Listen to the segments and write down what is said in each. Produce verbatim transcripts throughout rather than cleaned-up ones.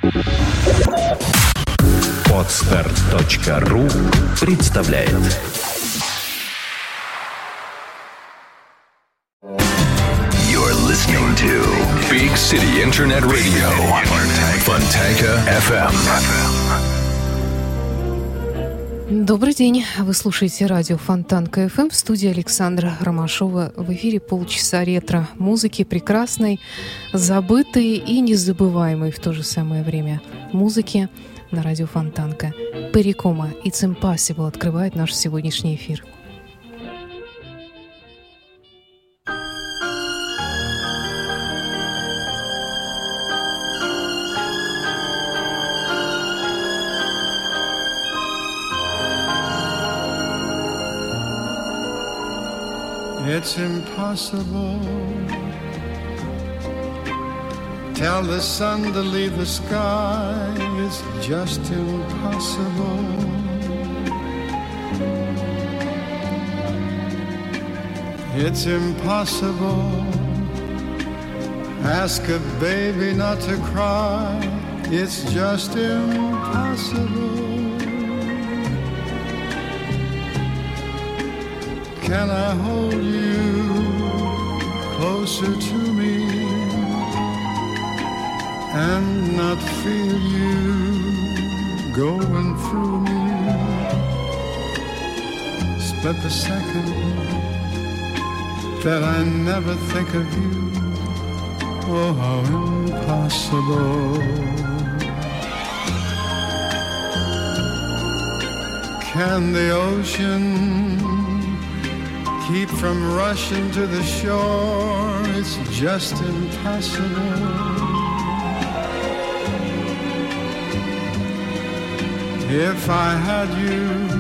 Подстер точка ру представляет. You're listening to Big City Internet Radio, Fontanka эф эм. Добрый день. Вы слушаете радио Фонтанка эф эм. В студии Александра Ромашова. В эфире полчаса ретро-музыки, прекрасной, забытой и незабываемой в то же самое время музыки на радио Фонтанка. Перри Комо «It's Impossible» открывает наш сегодняшний эфир. It's impossible. Tell the sun to leave the sky. It's just impossible. It's impossible. Ask a baby not to cry. It's just impossible. Can I hold you closer to me and not feel you going through me? Split the second that I never think of you. Oh, how impossible. Can the ocean keep from rushing to the shore? It's just impossible. If I had you,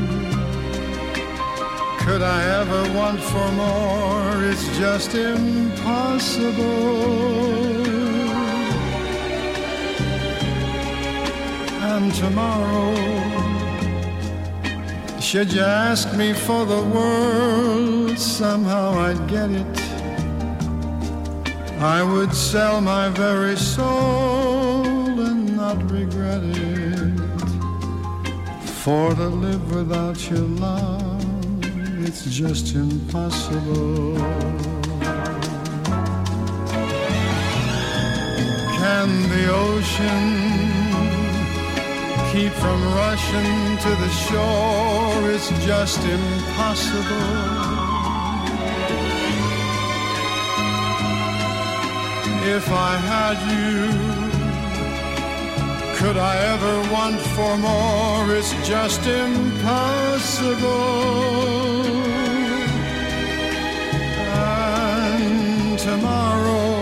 could I ever want for more? It's just impossible. And tomorrow, should you ask me for the world, somehow I'd get it. I would sell my very soul and not regret it. For to live without your love, it's just impossible. Can the ocean keep from rushing to the shore? It's just impossible. If I had you, could I ever want for more? It's just impossible. And tomorrow,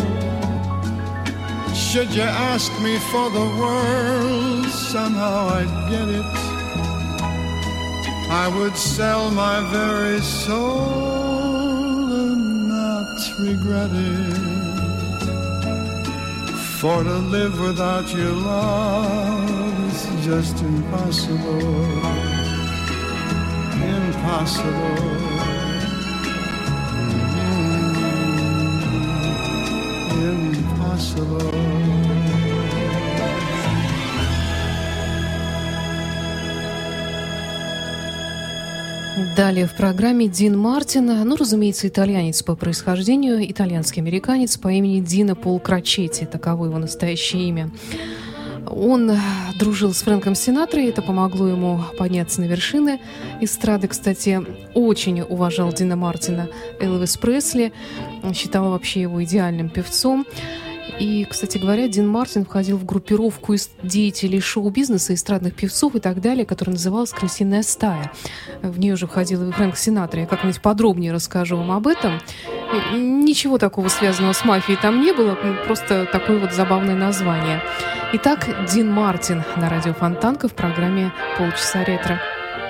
should you ask me for the world, somehow I'd get it. I would sell my very soul and not regret it. For to live without your love is just impossible. Impossible. Mm-hmm. Impossible. Далее в программе Дин Мартин, ну, разумеется, итальянец по происхождению, итальянский американец по имени Дино Пол Крочетти, таково его настоящее имя. Он дружил с Фрэнком Синатрой, это помогло ему подняться на вершины эстрады. Кстати, очень уважал Дина Мартина Элвис Пресли, считал вообще его идеальным певцом. И, кстати говоря, Дин Мартин входил в группировку из деятелей шоу-бизнеса, эстрадных певцов и так далее, которая называлась «Крысиная стая». В нее же входил и Фрэнк Синатра. Я как-нибудь подробнее расскажу вам об этом. Ничего такого связанного с мафией там не было, просто такое вот забавное название. Итак, Дин Мартин на радио Фонтанка в программе «Полчаса ретро».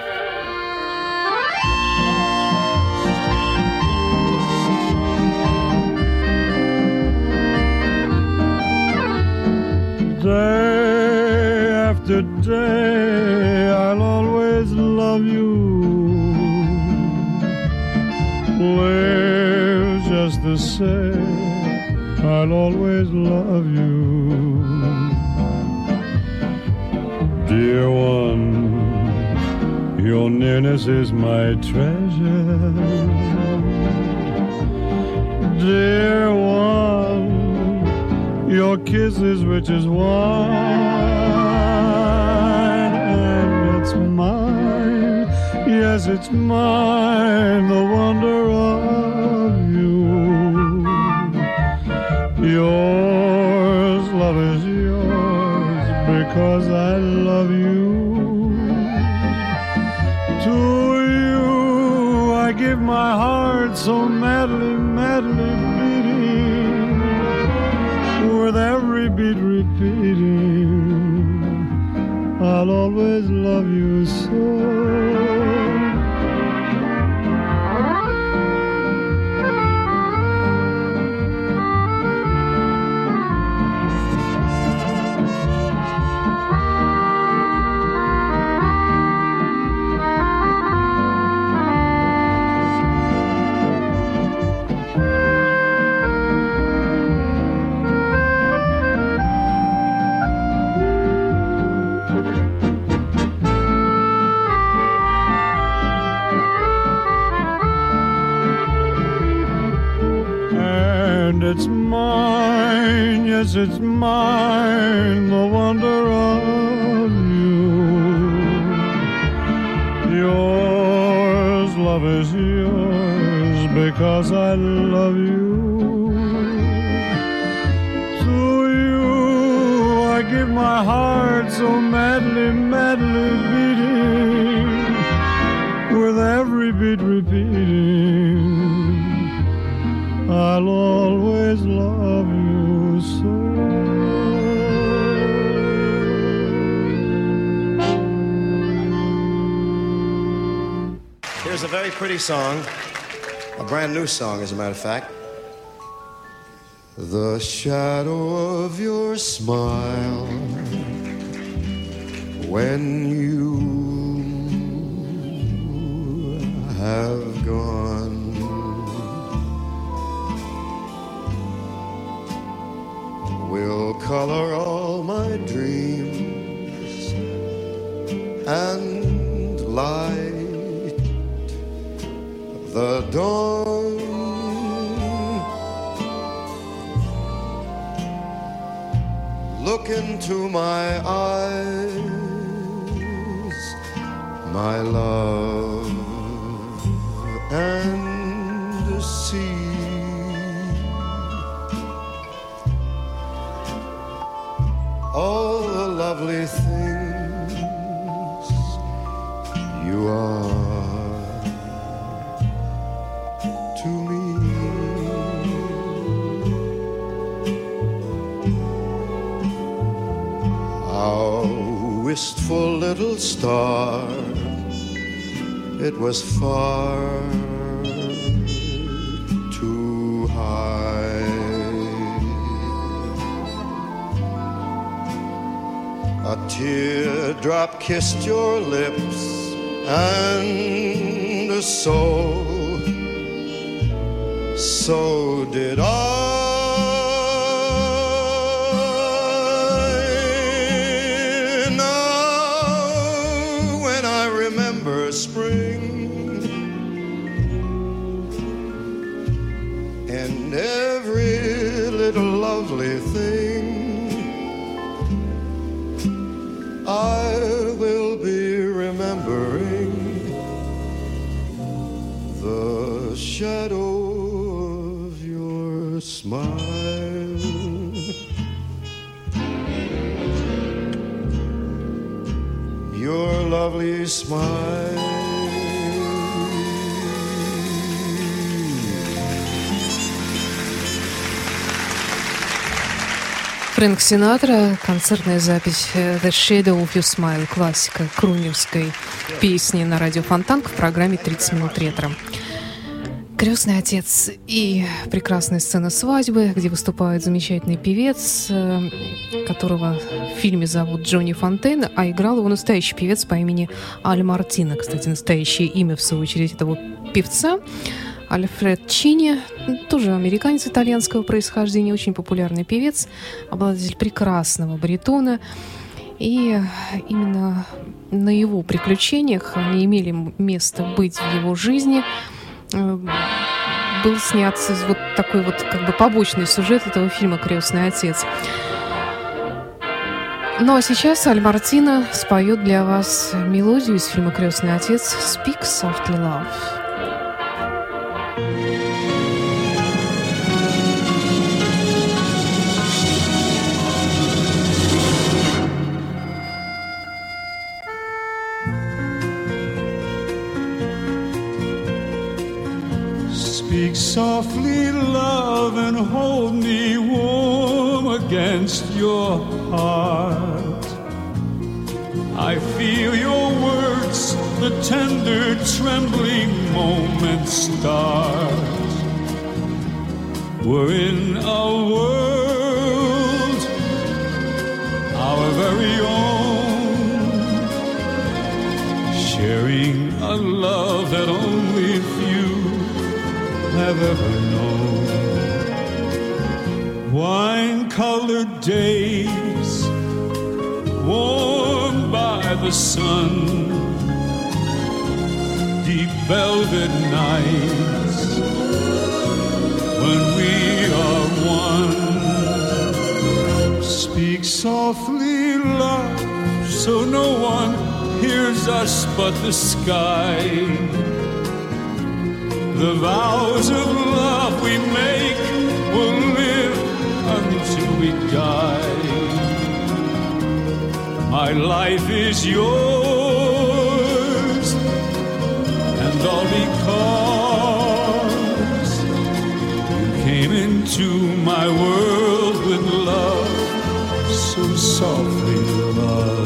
Day after day, I'll always love you. Live just the same, I'll always love you. Your nearness is my treasure. Dear one, your kiss is rich as wine, and it's mine, yes, it's mine, the wonder of you. Yours, love is yours, because I love you. To you I give my heart so madly, madly beating, with every beat repeating, I'll always love you so. It's mine, yes, it's mine, the wonder of you. Yours, love is yours, because I love you. To you I give my heart so madly, madly beating, with every beat repeating, I'll always love you so. Here's a very pretty song, a brand new song, as a matter of fact. The shadow of your smile when you have gone will color all my dreams and light the dawn. Look into my eyes, my love, and see all the lovely things you are to me. How wistful little star, it was far too high. A teardrop kissed your lips, and so, so did I. Now, when I remember spring and every little lovely thing, I will be remembering the shadow of your smile. Your lovely smile. Фрэнк Синатра, концертная запись «The Shadow of Your Smile», классика крунерской песни на радио Фонтанка в программе «тридцать минут ретро». «Крестный отец» и прекрасная сцена свадьбы, где выступает замечательный певец, которого в фильме зовут Джонни Фонтейн, а играл его настоящий певец по имени Аль Мартино. Кстати, настоящее имя, в свою очередь, этого певца Альфред Чини, тоже американец итальянского происхождения, очень популярный певец, обладатель прекрасного баритона. И именно на его приключениях, они имели место быть в его жизни, был снят вот такой вот как бы побочный сюжет этого фильма «Крестный отец». Ну а сейчас Аль Мартино споет для вас мелодию из фильма «Крестный отец» «Speak Softly, Love». Speak softly, love, and hold me warm against your heart. I feel your words, the tender, trembling moments start. We're in a world, our very own, sharing a love that only few have ever known. Wine-colored days, warmed by the sun, deep velvet nights when we are one. Speak softly, love, so no one hears us but the sky. The vows of love we make will live until we die. My life is yours, and all because you came into my world with love, so softly, love.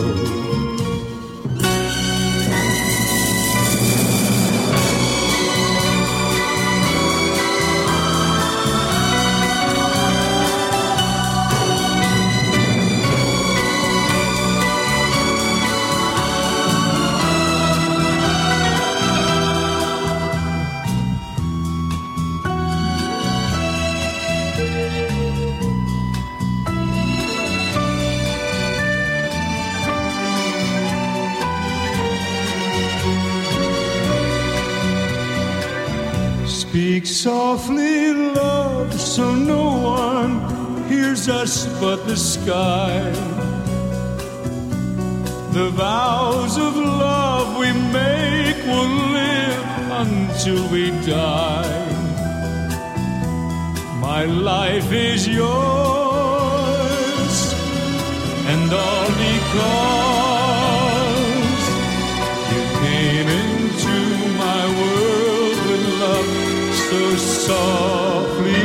Speak softly, love, so no one hears us but the sky. The vows of love we make will live until we die. My life is yours, and all because you came into my world with love so softly.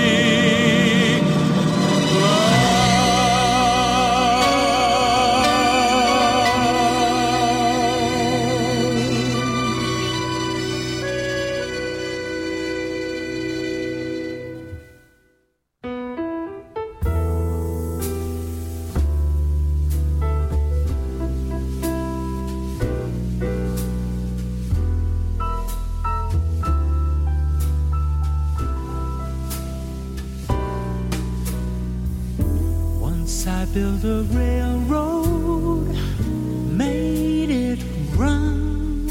Built a railroad, made it run,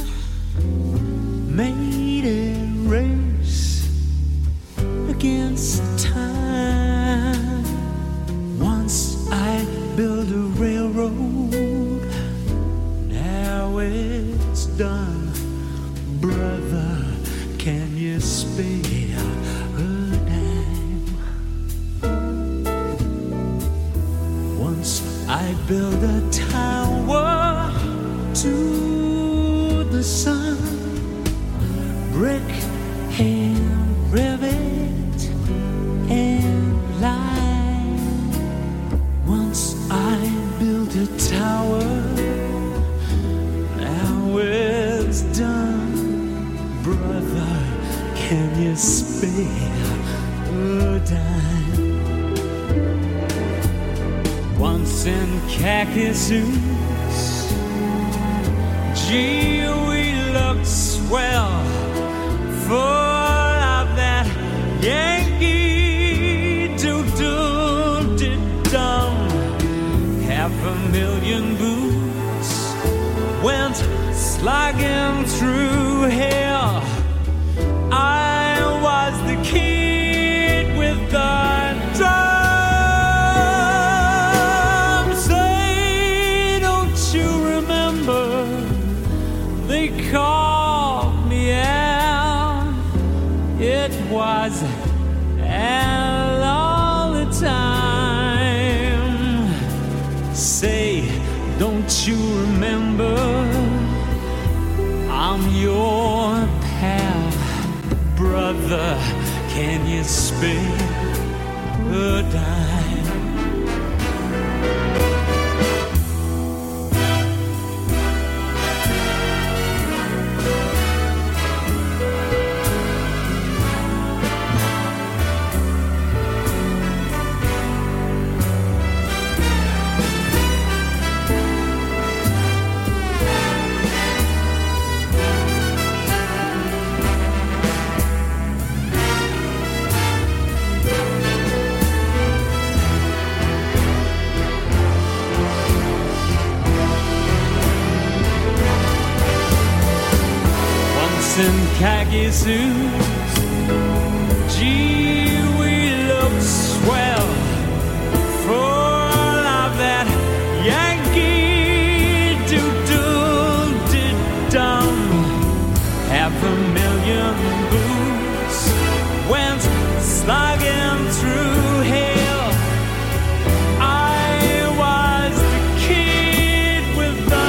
made it race against time. Once I built a railroad, now it's done. Brother, can you spare a dime? Once I built a tower to the sun, brick and rivet and line. Once I built a tower, now it's done. Brother, can you spare a dime? Once in khaki suits, gee, we looked swell, full of that Yankee doo-doo-dee-dum. Half a million boots went slogging through hell. I was the kid with the drum. Say, don't you remember? They called me out. It was Al all the time. Say, don't you remember? I'm your pal, brother. Can you spare a dime? In khaki suits, gee, we look swell, full of that Yankee doodle-did-dum. Half a million boots went slogging through hell. I was the kid with the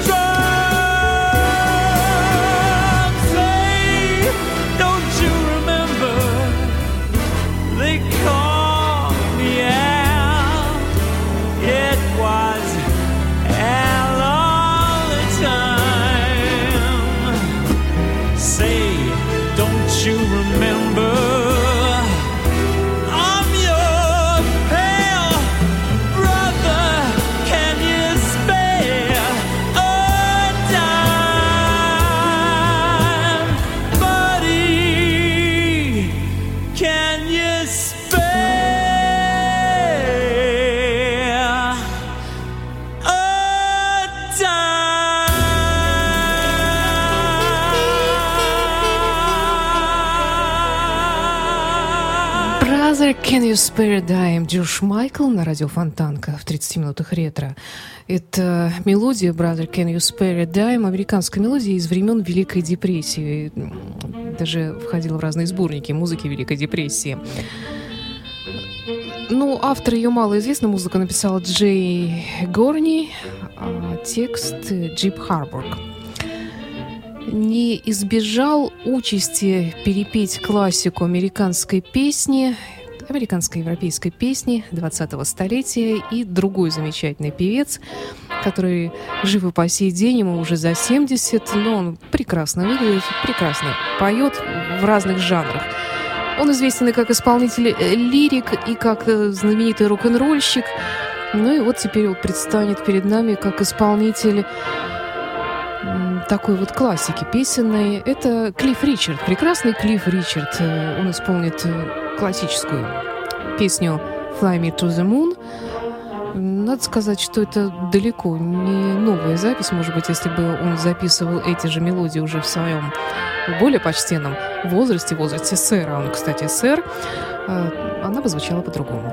Can You Spare a Dime? Джордж Майкл на радио Фонтанка в тридцати минутах ретро. Это мелодия Brother Can You Spare a Dime, американская мелодия из времен Великой депрессии. Даже входила в разные сборники музыки Великой депрессии. Ну, автор ее малоизвестна, музыку написал Джей Горни, а текст Джип Харбург. Не избежал участи перепеть классику американской песни, американской европейской песни двадцатого столетия и другой замечательный певец, который жив и по сей день, ему уже за семьдесят, но он прекрасно выглядит, прекрасно поет в разных жанрах. Он известен и как исполнитель лирик, и как знаменитый рок-н-ролльщик. Ну и вот теперь вот предстанет перед нами как исполнитель такой вот классики песенной. Это Клифф Ричард, прекрасный Клифф Ричард. Он исполнит классическую песню «Fly Me to the Moon». Надо сказать, что это далеко не новая запись. Может быть, если бы он записывал эти же мелодии уже в своем более почтенном возрасте, в возрасте сэра, он, кстати, сэр, она бы звучала по-другому.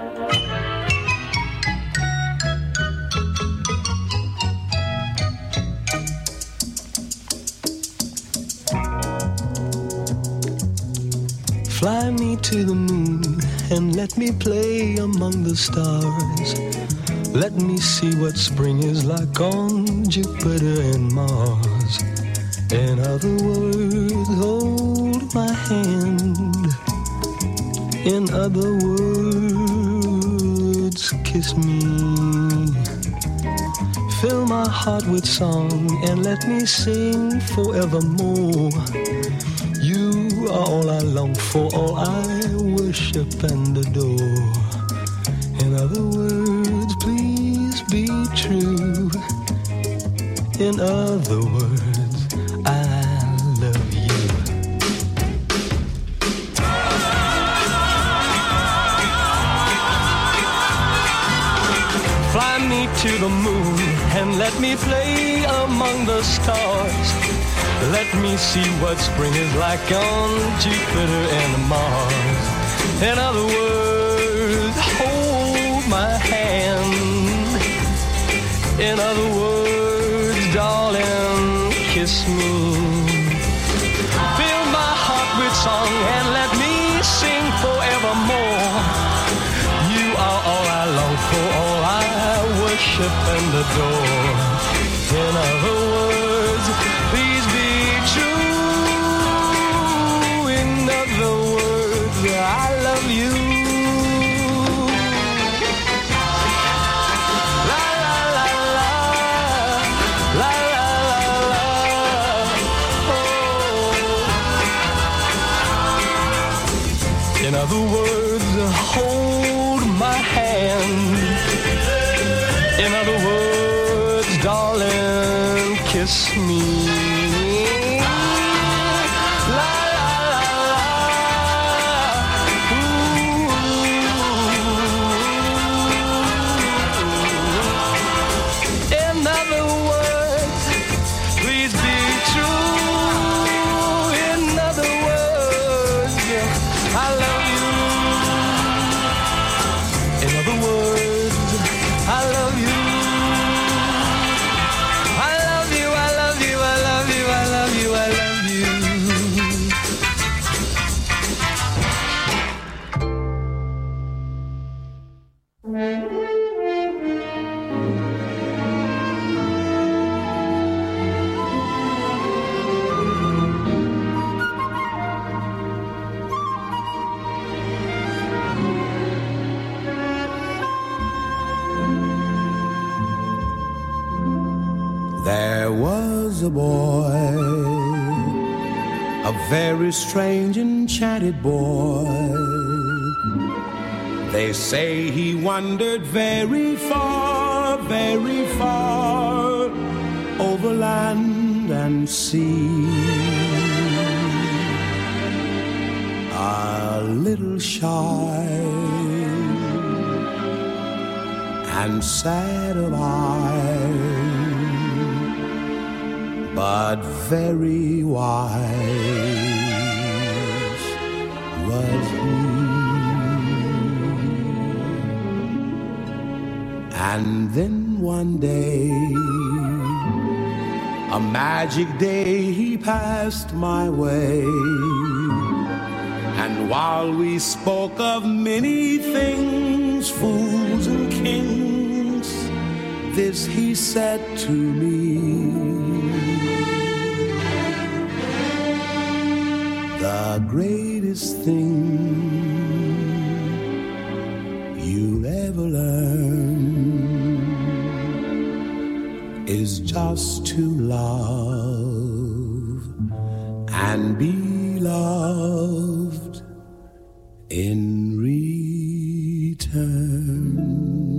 Fly me to the moon and let me play among the stars. Let me see what spring is like on Jupiter and Mars. In other words, hold my hand. In other words, kiss me. Fill my heart with song and let me sing forevermore. You are all I long for, all I worship and adore. In other words, please be true. In other words, I love you. Fly me to the moon and let me play among the stars. Let me see what spring is like on Jupiter and Mars. In other words, hold my hand. In other words, darling, kiss me. Fill my heart with song and let me sing forevermore. You are all I long for, all I worship and adore. In other words, please be true. In other words, I love you. La la la la, la la la la. Oh. In other words, hold my hand. In other words, darling, kiss me. La la la la. Ooh. In other words, please be true. In other words, I love you. In other words, I love you. I love you, I love you, I love you, I love you, I love you. There was a boy, a very strange, enchanted boy. They say he wandered very far, very far, over land and sea. A little shy and sad of eye, but very wise was he. And then one day, a magic day, he passed my way. And while we spoke of many things, fools and kings, this he said to me: the greatest thing you'll ever learn is just to love and be loved in return.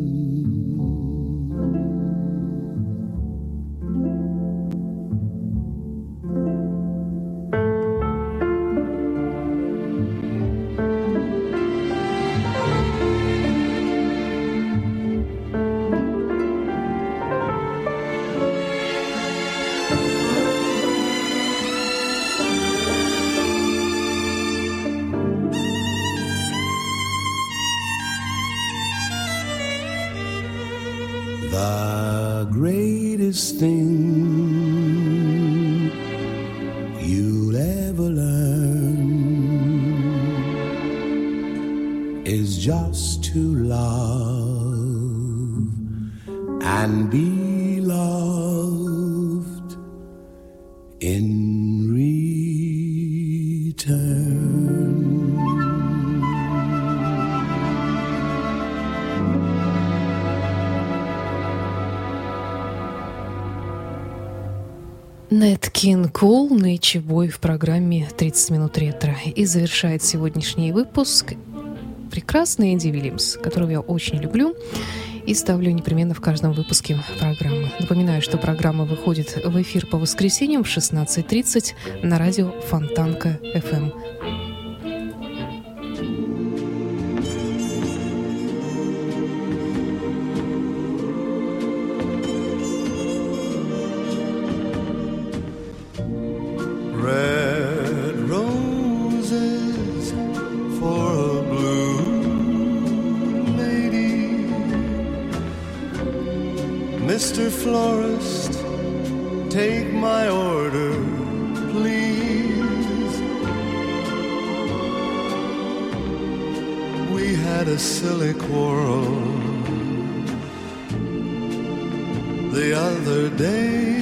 The greatest thing you'll ever learn is just to love and be loved in return. Нэт Кинг Кол, Нэйчи Бой в программе тридцать минут ретро. И завершает сегодняшний выпуск прекрасный Энди Уильямс, которого я очень люблю и ставлю непременно в каждом выпуске программы. Напоминаю, что программа выходит в эфир по воскресеньям в шестнадцать тридцать на радио Фонтанка эф эм. Mister Florist, take my order, please. We had a silly quarrel the other day.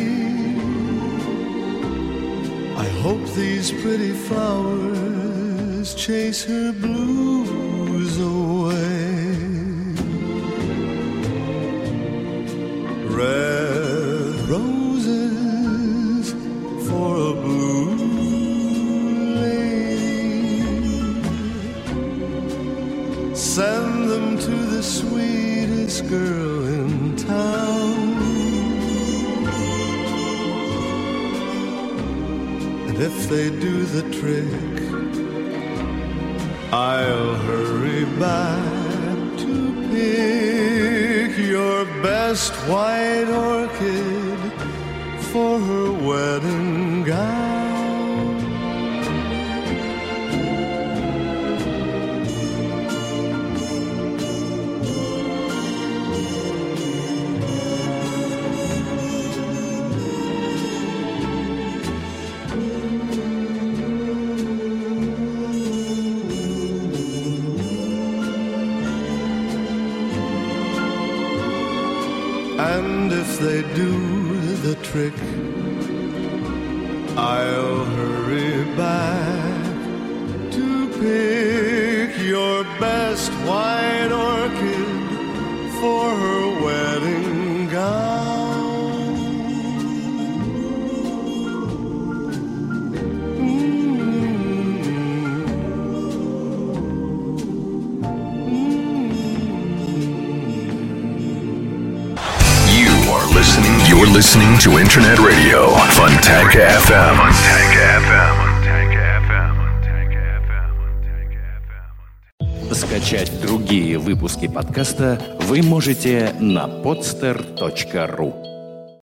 I hope these pretty flowers chase her blues away. Red roses for a blue lady. Send them to the sweetest girl in town. And if they do the trick, I'll hurry back to pick your best white orchid for her wedding gown. And if they do the trick, I'll hurry back to pick your best white orchid for her wedding gown. Listening, you're listening to Internet Radio Fontanka эф эм. Fontanka эф эм. Скачать другие выпуски подкаста вы можете на podster точка ру.